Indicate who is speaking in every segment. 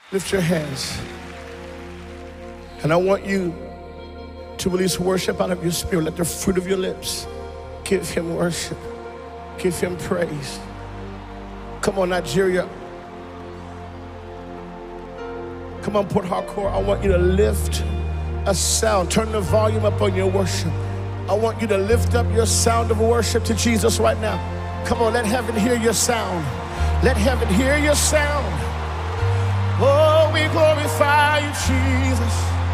Speaker 1: Lift your hands. And I want you to release worship out of your spirit. Let the fruit of your lips give him worship. Give him praise. Come on, Nigeria. Come on, Port Harcourt. I want you to lift a sound. Turn the volume up on your worship. I want you to lift up your sound of worship to Jesus right now. Come on, let heaven hear your sound. Let heaven hear your sound. Oh, we glorify you, Jesus.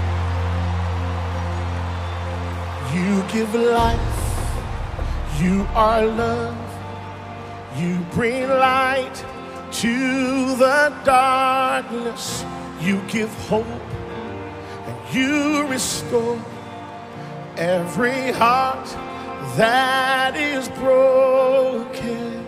Speaker 1: You give life. You are love. You bring light to the darkness. You give hope and you restore every heart that is broken.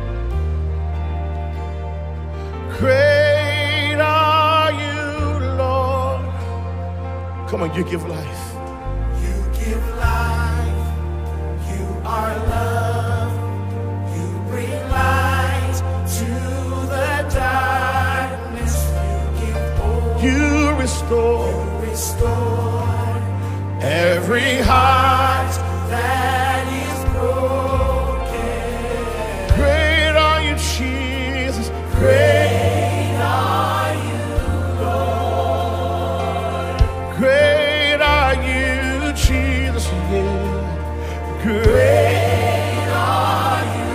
Speaker 1: Great are you, Lord. Come on, you give life.
Speaker 2: You give life. You are love. You bring light to the darkness. You give hope.
Speaker 1: You restore.
Speaker 2: You restore
Speaker 1: Every heart
Speaker 2: that is broken.
Speaker 1: Great are you, Jesus.
Speaker 2: Great are you, Lord.
Speaker 1: Great are you, Jesus. Yeah.
Speaker 2: Great are you,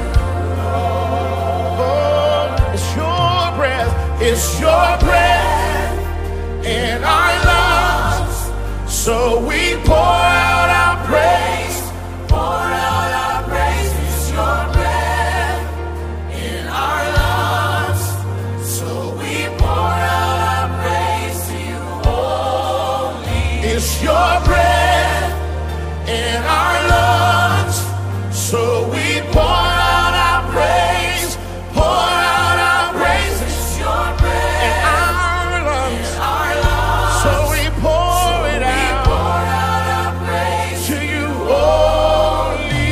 Speaker 2: Lord.
Speaker 1: Oh, it's your breath. It's your breath in our lungs. So we pour out our praise.
Speaker 2: Pour out our praise. It's your breath in our lungs. So we pour out our praise to you only.
Speaker 1: It's your breath in our lungs. So we pour out our praise. Pour out our praise.
Speaker 2: It's your breath
Speaker 1: In our lungs.
Speaker 2: in our lungs.
Speaker 1: So we pour it
Speaker 2: We
Speaker 1: out
Speaker 2: pour out our praise.
Speaker 1: to you only.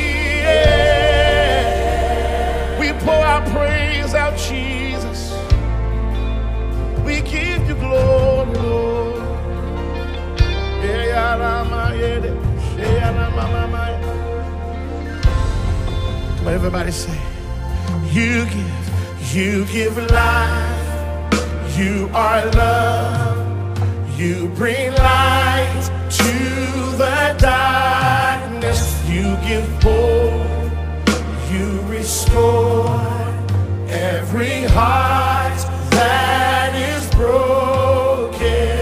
Speaker 1: Yeah. We pour our praise out, Jesus. We give you glory, Lord. Yeah, come on, everybody say, you give life. You are love. You bring light to the darkness. You give hope. You restore every heart that is broken.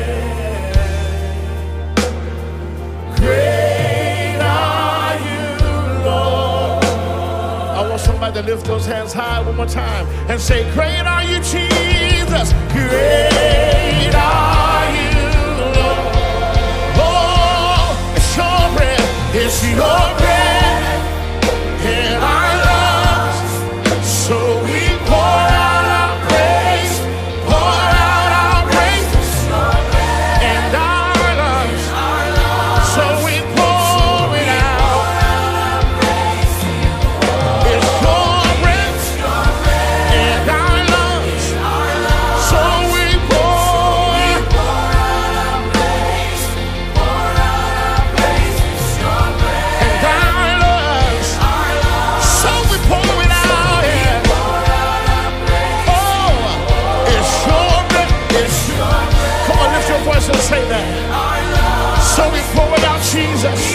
Speaker 1: Great are you, Lord. I want somebody to lift those hands high one more time and say, great are you, Jesus. Great are you, Lord. Oh, it's your breath. It's your breath in our lungs. So we pour out our praise. Pour out our praise in our lungs. So we pour it out. It's your breath in our lungs. So we pour
Speaker 2: Pour out our praise. Pour out our praise. It's your breath
Speaker 1: in our lungs. So we pour it out. Yeah.
Speaker 2: Pour out our praise.
Speaker 1: Oh, it's your breath. It's your breath. Come on, lift your voice and say that. So we pour it out, Jesus.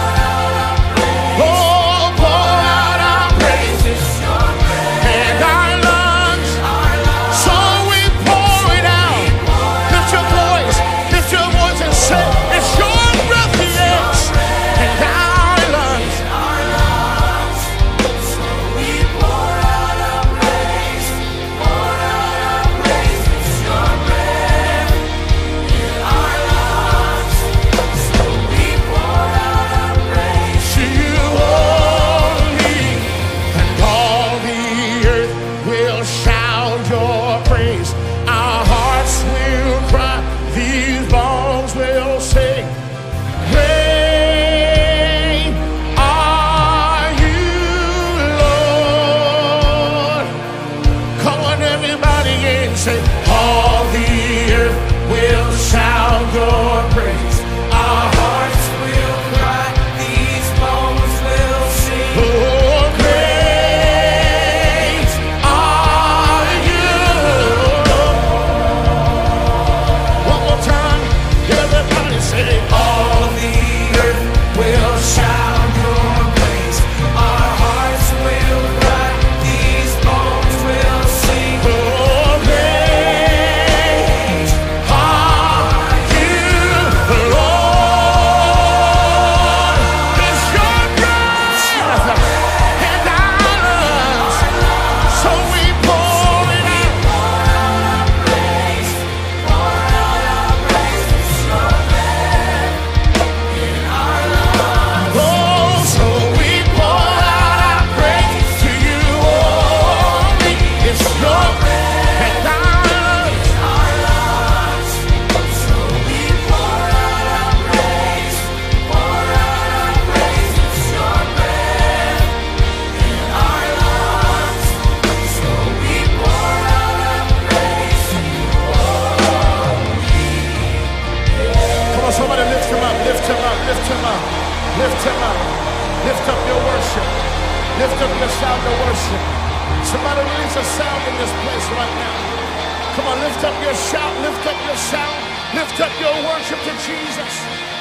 Speaker 1: Oh, pour out our praises in our lungs. So we pour it out. Lift your voice and say, it's your breath, yes, in our lungs.
Speaker 2: So we pour out our praise. Pour out our praise. It's your breath in our lungs. So we pour out
Speaker 1: will shout your praise.
Speaker 2: Our hearts will cry, these bones will sing.
Speaker 1: Oh, great are you, Lord. One more time, everybody say,
Speaker 2: All the earth will shout your praise. Our hearts will cry, these bones will sing.
Speaker 1: oh, great are you, Lord. It's your breath and our lungs, so we pour it out.
Speaker 2: Praise, pour out our praise. It's your breath in our lungs.
Speaker 1: Oh, so we pour out our praise to you only. It's your breath and our lungs.
Speaker 2: Our lungs. So we pour out our praise, pour out our praise. It's your breath in our lungs. So we pour out our praise to you
Speaker 1: Come on, somebody lift him up, lift him up, lift him up, lift him up. Lift up your worship. Lift up your sound of worship. Somebody release a sound in this place right now. Come on, lift up your shout, lift up your sound, lift up your worship to Jesus.